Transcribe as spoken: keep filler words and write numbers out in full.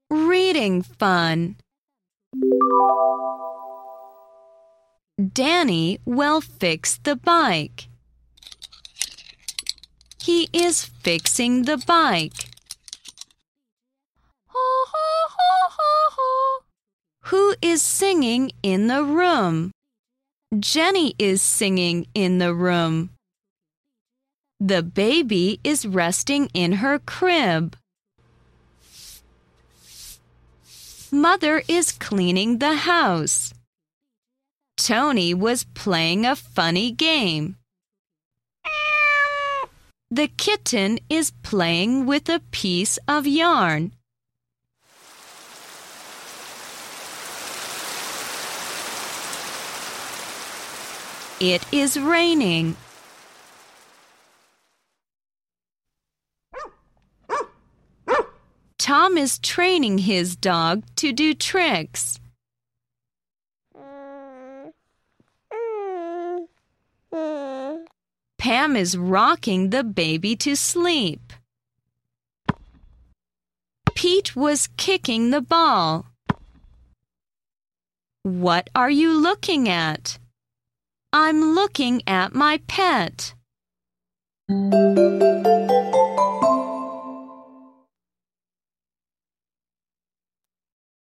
Reading fun. Danny will fix the bike. He is fixing the bike. Who is singing in the room? Jenny is singing in the room. The baby is resting in her crib. Mother is cleaning the house. Tony was playing a funny game. The kitten is playing with a piece of yarn. It is raining. Tom is training his dog to do tricks. Pam is rocking the baby to sleep. Pete was kicking the ball. What are you looking at? I'm looking at my pet.